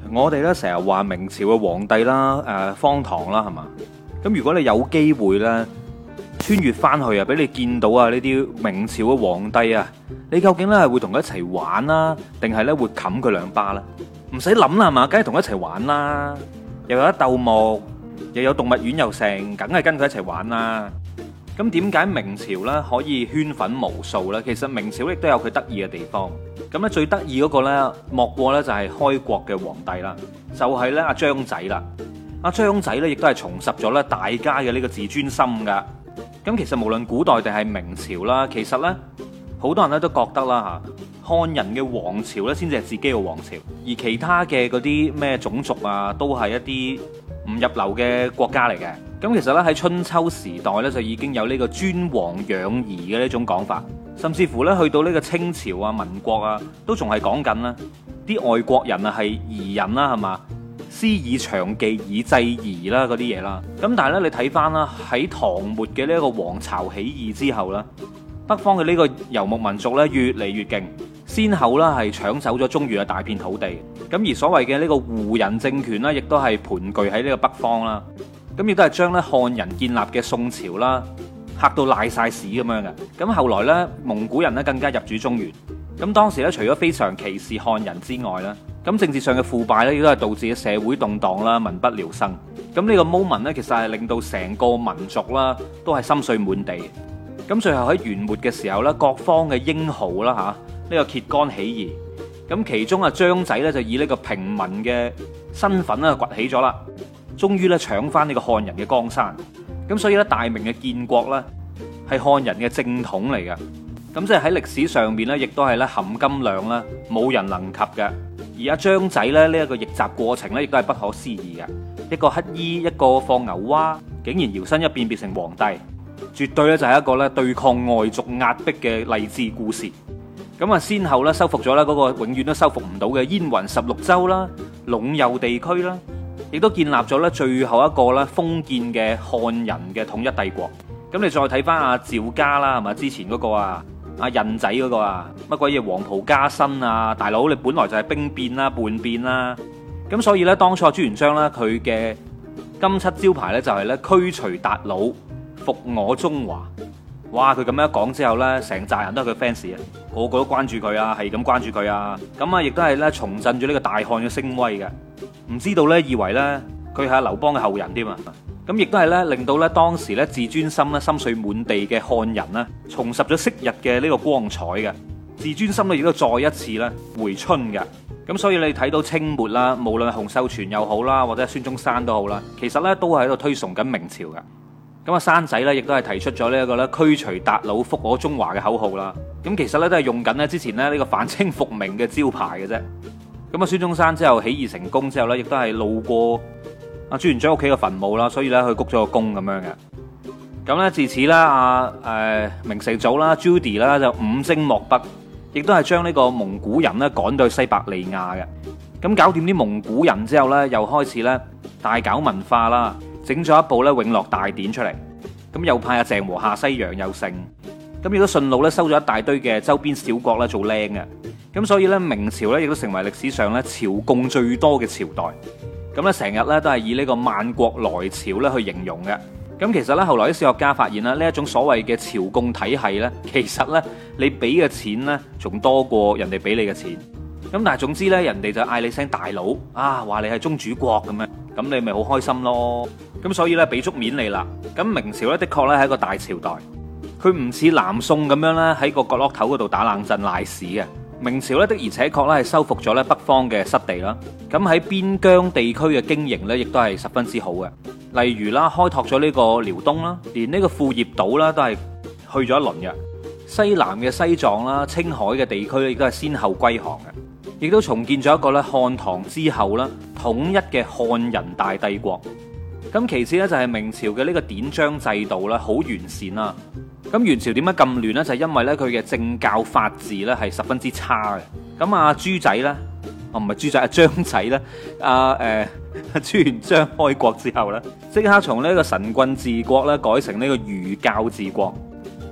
我哋咧成日話明朝嘅皇帝啦，荒唐啦，係嘛？咁如果你有機會咧穿越翻去啊，俾你見到啊呢啲明朝嘅皇帝啊，你究竟咧係會同佢一齊玩啦，定係咧會冚佢兩巴啦？唔使諗啦，係嘛？梗係同佢一齊玩啦，又有得鬥木，又有動物園又成，梗係跟佢一齊玩啦。咁點解明朝咧可以圈粉無數咧？其實明朝亦都有佢得意嘅地方。咁咧最得意嗰個咧，莫過咧就係開國嘅皇帝啦，就係咧阿張仔啦。阿張仔咧亦都係重拾咗咧大家嘅呢個自尊心噶。咁其實無論古代定係明朝啦，其實咧好多人咧都覺得啦嚇，漢人嘅王朝咧先至係自己嘅王朝，而其他嘅嗰啲咩種族啊，都係一啲唔入流嘅國家嚟嘅。咁其實咧喺春秋時代咧就已經有呢個尊王攘夷嘅呢種講法，甚至乎咧去到呢個清朝啊、民國啊，都仲係講緊啦，啲外國人啊係夷人啦，係嘛？師以長技以制夷啦嗰啲嘢啦。咁但係咧你睇翻啦，喺唐末嘅呢一個黃巢起義之後啦，北方嘅呢個游牧民族咧越嚟越勁，先後啦係搶走咗中原嘅大片土地。咁而所謂嘅呢個胡人政權咧，亦都係盤踞喺呢個北方啦。咁亦都係將咧漢人建立嘅宋朝啦嚇到賴晒屎咁樣嘅。咁後來咧蒙古人咧更加入主中原。咁當時咧除咗非常歧視漢人之外咧，咁政治上嘅腐敗咧亦都係導致社會動盪啦、民不聊生。咁呢個 moment 咧其實係令到成個民族啦都係心碎滿地。咁最後喺元末嘅時候咧，各方嘅英豪啦嚇呢個揭竿起義。咁其中啊張仔咧就以呢個平民嘅身份咧崛起咗啦。終於咧搶翻呢個漢人嘅江山，咁所以咧大明嘅建國咧係漢人嘅正統嚟嘅，咁即係喺歷史上面咧，亦都係咧含金量咧冇人能及嘅。而阿張仔咧呢一個逆襲過程咧，亦都係不可思議嘅。一個乞衣，一個放牛娃，竟然搖身一變變成皇帝，絕對咧就係一個咧對抗外族壓迫嘅勵志故事。咁啊，先後咧收復咗咧嗰個永遠都收復唔到嘅燕雲16州啦、隴右地區啦。亦都建立咗咧最後一個咧封建嘅漢人嘅統一帝國。咁你再睇翻阿趙家啦，係嘛？之前嗰個啊，阿印仔嗰個啊，乜鬼嘢黃袍加身啊？大佬你本來就係兵變啦、叛變啦。咁所以咧，當初朱元璋咧佢嘅金漆招牌咧就係咧驅除韃虜，復我中華。哇！佢咁樣一講之後咧，成扎人都係佢 fans 啊，個個都關注佢啊，係咁關注佢啊。咁啊，亦都係咧重振咗呢個大漢嘅聲威嘅。唔知道咧，以為咧佢係劉邦嘅後人添啊！咁亦都係咧令到咧當時咧自尊心咧心碎滿地嘅漢人咧重拾咗昔日嘅呢個光彩嘅自尊心咧，亦都再一次咧回春嘅。咁所以你睇到清末啦，無論係洪秀全又好啦，或者孫中山都好啦，其實咧都係喺度推崇緊明朝嘅。咁啊，山仔咧亦都係提出咗呢一個咧驅除韃虜，復我中華嘅口號啦。咁其實咧都係用緊咧之前咧呢個反清復明嘅招牌嘅啫。咁啊，孫中山之後起義成功之後咧，亦都係路過阿朱元璋屋企嘅墳墓啦，所以咧佢鞠咗個躬咁樣嘅。咁咧自此啦，明成祖啦 Judy 啦就五征漠北，亦都係將呢個蒙古人咧趕到去西伯利亞嘅。咁搞掂啲蒙古人之後咧，又開始咧大搞文化啦。整咗一部咧《永樂大典》出嚟，咁又派阿鄭和下西洋又勝，咁亦都順路咧收咗一大堆嘅周邊小國咧做僆嘅，咁所以咧明朝咧亦都成為歷史上咧朝貢最多嘅朝代，咁咧成日咧都係以呢個萬國來朝咧去形容嘅。咁其實咧後來啲史學家發現啦，呢一種所謂嘅朝貢體系咧，其實咧你俾嘅錢咧仲多過人哋俾你嘅錢。咁但係總之咧，人哋就嗌你聲大佬啊，話你係宗主國咁樣，咁你咪好開心咯。咁所以咧俾足面你啦。咁明朝咧的確咧係一個大朝代，佢唔似南宋咁樣咧喺個角落頭嗰度打冷震賴屎嘅。明朝咧的而且確咧係收復咗咧北方嘅失地啦。咁喺邊疆地區嘅經營咧，亦都係十分之好嘅。例如啦，開拓咗呢個遼東啦，連呢個庫頁島啦都係去咗一輪嘅。西南嘅西藏啦、青海嘅地區咧，亦都係先後歸降嘅。亦都重建咗一個咧漢唐之後啦統一嘅漢人大帝國。咁其次咧就係明朝嘅呢個典章制度啦，好完善啦。咁元朝點解咁亂呢？就係因為咧佢嘅政教法治咧係十分之差嘅。咁阿朱仔咧，唔係朱仔，阿張仔咧，朱元璋開國之後咧，即刻從呢個神棍治國咧改成呢個儒教治國。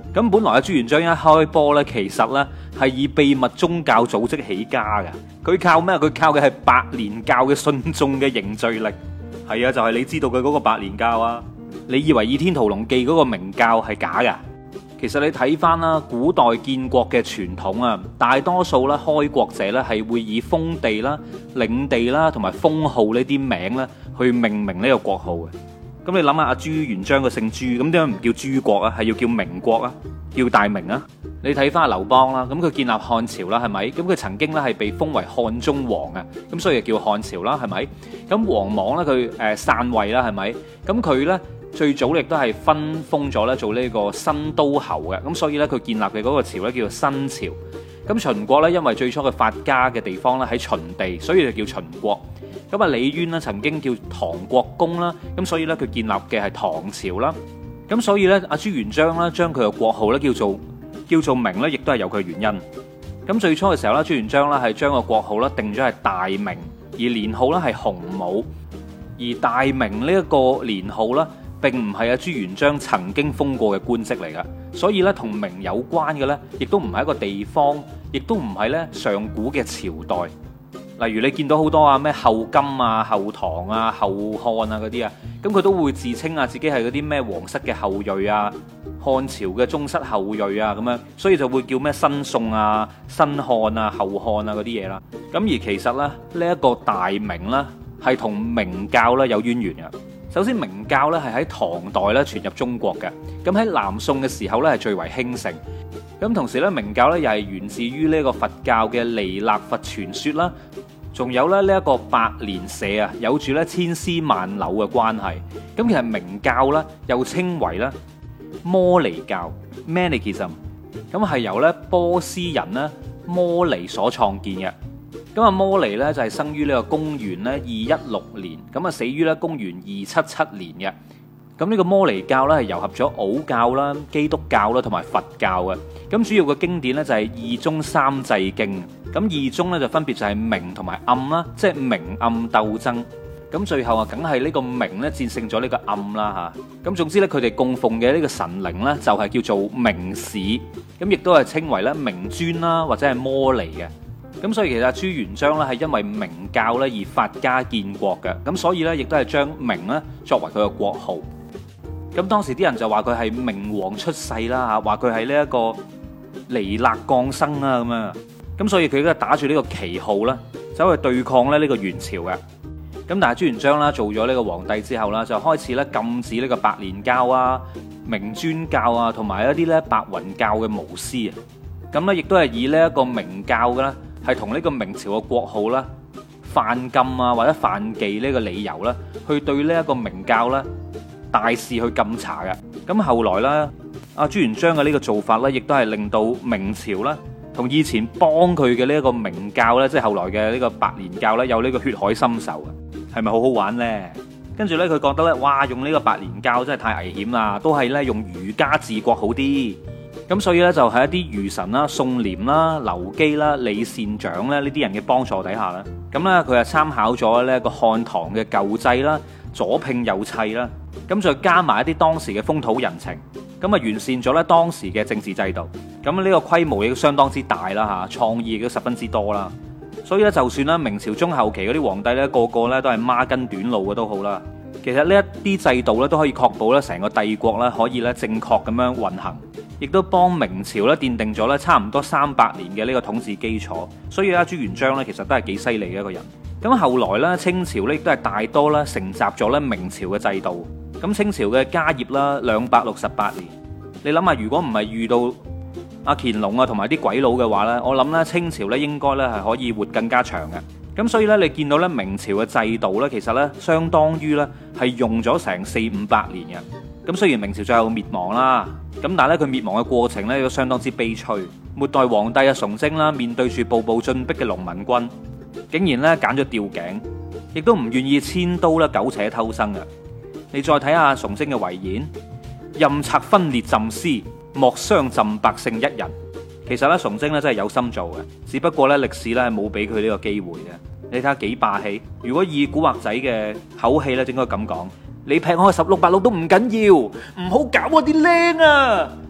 咁本來阿朱元璋一開波呢，其實呢係以秘密宗教組織起家嘅。佢靠咩？佢靠嘅係白蓮教嘅信眾嘅凝聚力。係啊，就係你知道嘅嗰個白蓮教啊。你以為《倚天屠龍記》嗰個明教係假噶？其實你睇翻啦，古代建國嘅傳統啊，大多數咧開國者咧係會以封地啦、領地啦同埋封號呢啲名咧去命名呢個國號嘅。咁你諗下，阿朱元璋個姓朱，咁點解唔叫朱國啊？係要叫明國啊，叫大明啊？你睇翻劉邦啦，咁佢建立漢朝啦，係咪？咁佢曾經咧係被封為漢中王啊，咁所以就叫漢朝啦，係咪？咁王莽咧佢篡位啦，係咪？咁佢咧最早亦都係分封咗咧做呢個新都侯嘅，咁所以咧佢建立嘅嗰個朝咧叫做新朝。咁秦國咧因為最初嘅發家嘅地方咧喺秦地，所以就叫秦國。咁啊李淵咧曾經叫唐國公啦，咁所以咧佢建立嘅係唐朝啦。咁所以咧阿朱元璋咧將佢嘅國號咧叫做明咧，亦都係有佢原因。咁最初嘅時候咧，朱元璋咧係將個國號咧定咗係大明，而年號咧係洪武。而大明呢一個年號咧，並唔係阿朱元璋曾經封過嘅官職嚟噶，所以咧同明有關嘅咧，亦都唔係一個地方，亦都唔係咧上古嘅朝代。例如你見到好多啊咩後金啊、後唐啊、後漢啊嗰啲啊，咁佢都會自稱啊自己係嗰啲咩皇室嘅後裔啊、漢朝嘅宗室後裔啊咁樣，所以就會叫咩新宋啊、新漢啊、後漢啊嗰啲嘢啦。咁而其實咧呢一個大明咧係同明教咧有淵源嘅。首先明教咧係喺唐代咧傳入中國嘅，咁喺南宋嘅時候咧係最為興盛。咁同時咧明教咧又係源自於呢個佛教嘅彌勒佛傳說啦，仲有咧呢一個白蓮社啊，有住咧千絲萬縷嘅關係。咁其實明教咧又稱為咧摩尼教 （Manichaeism），咁係由咧波斯人咧摩尼所創建嘅。咁啊摩尼咧就係生於呢個公元咧216年，咁啊死於咧公元277年嘅。咁呢個摩尼教咧係糅合咗奧教啦、基督教啦同埋佛教嘅。咁主要嘅經典咧就係二宗三際經。咁二宗咧就分別就係明同埋暗啦，即係明暗鬥爭。咁最後啊，梗係呢個明咧戰勝咗呢個暗啦嚇。咁總之咧，佢哋供奉嘅呢個神靈咧就係叫做明市，咁亦都係稱為咧明尊啦或者係摩尼嘅。咁所以其實朱元璋咧係因為明教咧而發家建國嘅，咁所以咧亦都係將明咧作為佢嘅國號。咁當時啲人就話佢係明王出世啦嚇，話佢係呢一個彌勒降生啊咁樣。咁所以佢都打住呢個旗號啦，走去對抗咧呢個元朝嘅。咁但係朱元璋啦做咗呢個皇帝之後啦，就開始咧禁止呢個白蓮教啊、明尊教啊，同埋一啲咧白雲教嘅巫師啊。咁咧亦都係以呢一個明教嘅啦，係同呢個明朝嘅國號啦犯禁啊或者犯忌呢個理由啦，去對呢一個明教咧大肆去禁查嘅。咁後來咧，阿朱元璋嘅呢個做法咧，亦都係令到明朝啦同以前幫佢嘅呢一個明教咧，即係後來嘅呢個白蓮教咧，有呢個血海深仇嘅，係咪好好玩呢？跟住咧，佢覺得咧，哇，用呢個白蓮教真係太危險啦，都係咧用儒家治國好啲。咁所以咧，就喺一啲儒臣啦、宋濂啦、劉基啦、李善長咧呢啲人嘅幫助底下啦，咁咧佢係參考咗呢個漢唐嘅舊制啦，左拼右砌啦，咁再加埋一啲當時嘅風土人情，咁啊完善咗咧當時嘅政治制度。咁呢個規模亦都相當之大啦嚇，創意亦都十分之多啦。所以咧，就算咧明朝中後期嗰啲皇帝咧個個咧都係孖筋短路嘅都好啦，其實呢一啲制度咧都可以確保咧成個帝國咧可以咧正確咁樣運行，亦都幫明朝咧奠定咗咧差唔多300年嘅呢個統治基礎。所以咧朱元璋咧其實都係幾犀利嘅一個人。咁後來咧清朝咧亦都係大多咧承襲咗咧明朝嘅制度。咁清朝嘅家業啦268年，你諗下如果唔係遇到阿乾隆啊同埋啲鬼佬嘅話呢，我諗咧清朝咧應該咧係可以活更加長嘅。咁所以咧你見到咧明朝嘅制度咧其實咧相當於咧係用咗成400-500年嘅。咁雖然明朝最後滅亡啦，咁但係咧佢滅亡嘅過程咧都相當之悲催。末代皇帝啊崇禎啦，面對住步步進逼嘅農民軍，竟然咧揀咗吊頸，亦都唔願意遷都咧苟且偷生嘅。你再睇下崇禎嘅遺言，任賊分裂朕師，莫傷朕百姓一人。其實咧崇禎咧真係有心做嘅，只不過咧歷史咧係冇俾佢呢個機會嘅。你睇下幾霸氣。如果以古惑仔嘅口氣咧，應該咁講：你劈我1686都唔緊要，唔好搞我啲靚啊！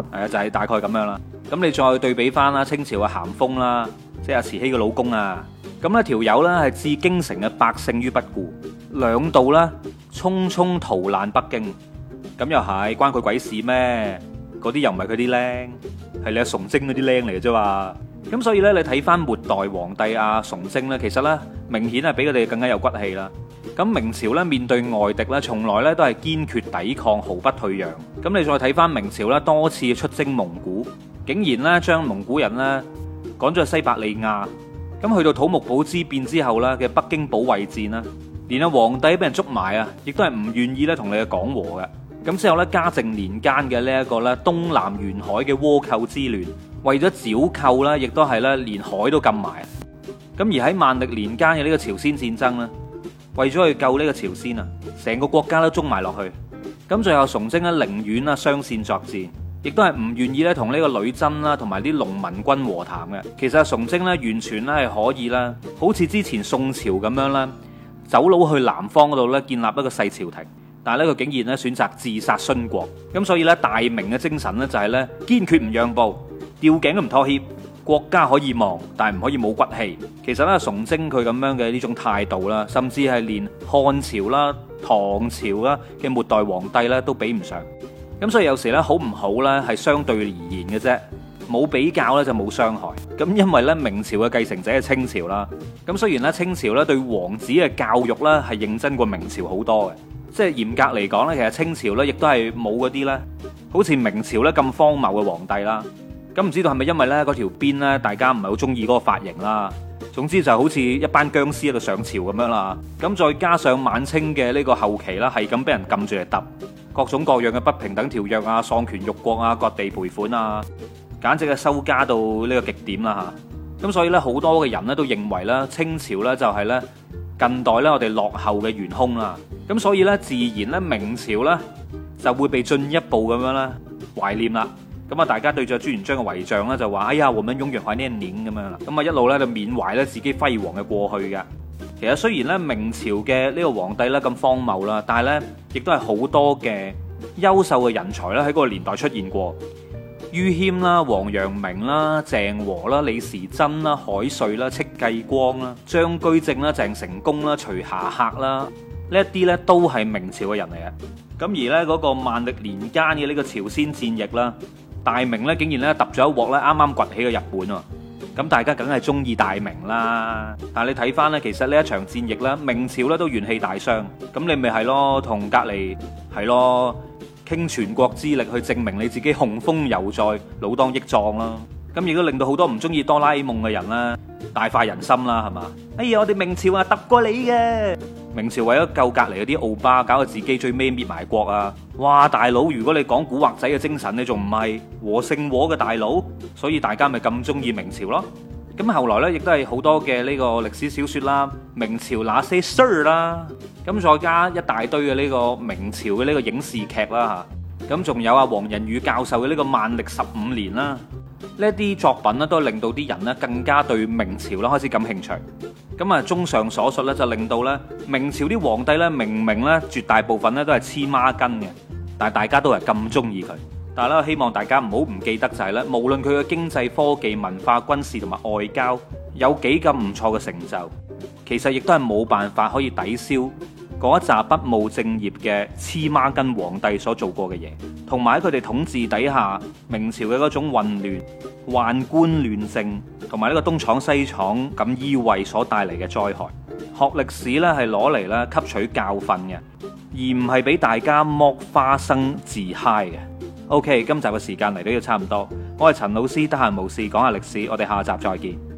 係啊，就係大概咁樣啦。咁你再對比翻啦，清朝嘅咸豐啦，即係阿慈禧嘅老公啊，咁呢條友呢係置京城嘅百姓於不顧，兩度呢匆匆逃難北京。咁又係關佢鬼事咩？嗰啲又唔係佢啲僆，係你阿崇禎嗰啲僆嚟嘅啫嘛。咁所以呢，你睇翻末代皇帝阿崇禎呢，其實呢明顯係比佢哋更加有骨氣啦。咁明朝呢，面對外敵呢，從來呢都係堅決抵抗，毫不退讓。咁你再睇翻明朝呢，多次出征蒙古，竟然呢將蒙古人呢趕咗去西伯利亞。咁去到土木堡之變之後呢嘅北京保衛戰啦，連阿皇帝俾人捉埋啊，亦都係唔願意咧同你去講和嘅。咁之後咧，嘉靖年間嘅呢一個咧東南沿海嘅倭寇之亂，為咗剿寇啦，亦都係咧連海都禁埋。咁而喺萬曆年間嘅呢個朝鮮戰爭咧，為咗去救呢個朝鮮啊，成個國家都中埋落去。咁最後崇禎咧寧願啦雙線作戰，亦都係唔願意咧同呢個女真啦同埋啲農民軍和談嘅。其實崇禎咧完全咧係可以啦，好似之前宋朝咁樣啦，走佬去南方嗰度咧建立一個細朝廷。但係咧，佢竟然咧選擇自殺殉國，咁所以咧大明嘅精神咧就係咧堅決唔讓步，吊頸都唔妥協，國家可以亡，但係唔可以冇骨氣。其實咧，崇禎佢咁樣嘅呢種態度啦，甚至係連漢朝啦、唐朝啦嘅末代皇帝咧都比唔上。咁所以有時咧好唔好咧係相對而言嘅啫，冇比較咧就冇傷害。咁因為咧明朝嘅繼承者係清朝啦，咁雖然咧清朝咧對王子嘅教育咧係認真過明朝好多嘅。即係嚴格嚟講咧，其實清朝咧亦都係冇嗰啲咧，好似明朝咧咁荒謬嘅皇帝啦。咁唔知道係咪因為咧嗰條辮咧，大家唔係好中意嗰個髮型啦。總之就好似一班僵屍喺度上朝咁樣啦。咁再加上晚清嘅呢個後期啦，係咁俾人撳住嚟揼，各種各樣嘅不平等條約啊、喪權辱國啊、割地賠款啊，簡直係收加到呢個極點啦嚇。咁所以咧好多嘅人咧都認為咧清朝咧就係咧近代咧我哋落後嘅元兇啦。咁所以咧，自然咧，明朝咧就會被進一步咁樣咧懷念啦。咁啊，大家對住朱元璋嘅遺像咧，就話：哎呀，我們永遠懷念您咁樣啦。咁啊，一路咧就緬懷咧自己輝煌嘅過去嘅。其實雖然咧明朝嘅呢個皇帝咧咁荒謬啦，但係咧亦都係好多嘅優秀嘅人才咧喺嗰個年代出現過。于謙啦、王陽明啦、鄭和啦、李時珍啦、海瑞啦、戚繼光啦、張居正啦、鄭成功啦、徐霞客啦。呢一啲咧都係明朝嘅人嚟嘅，咁而咧嗰個萬曆年間嘅呢個朝鮮戰役啦，大明咧竟然咧揼咗一鑊咧啱啱崛起嘅日本喎，咁大家梗係中意大明啦。但係你睇翻咧，其實呢一場戰役咧，明朝咧都元氣大傷，咁你咪係咯，同隔離係咯，傾全國之力去證明你自己雄風猶在，老當益壯啦。咁亦都令到好多唔中意哆啦 A 夢嘅人啦，大快人心啦，係嘛？哎呀，我哋明朝啊揼過你嘅。明朝為咗救隔離嗰啲奧巴，搞到自己最尾滅埋國啊！哇，大佬，如果你講古惑仔嘅精神，你仲唔係和勝和嘅大佬？所以大家咪咁中意明朝咯。咁後來呢，亦都係好多嘅呢個歷史小說啦，明朝那些事兒啦，咁再加一大堆嘅呢個明朝嘅呢個影視劇啦嚇，咁仲有啊黃仁宇教授嘅呢個萬曆15年啦。呢啲作品咧，都令到啲人咧更加對明朝咧開始感興趣。咁啊，綜上所述咧，就令到咧明朝啲皇帝咧，明明咧絕大部分咧都係黐孖筋嘅，但係大家都係咁中意佢。但係咧，希望大家唔好唔記得就係咧，無論佢嘅經濟、科技、文化、軍事同埋外交有幾咁唔錯嘅成就，其實亦都係冇辦法可以抵消嗰一紮不務正業嘅黐孖筋皇帝所做過嘅嘢，同埋喺佢哋統治底下明朝嘅嗰種混亂、宦官亂政，同埋呢個東廠西廠咁依位所帶嚟嘅災害。學歷史咧係攞嚟咧吸取教訓嘅，而唔係俾大家剝花生自嗨嘅。OK， 今集嘅時間嚟到要差唔多，我係陳老師，得閒無事講下歷史，我哋下集再見。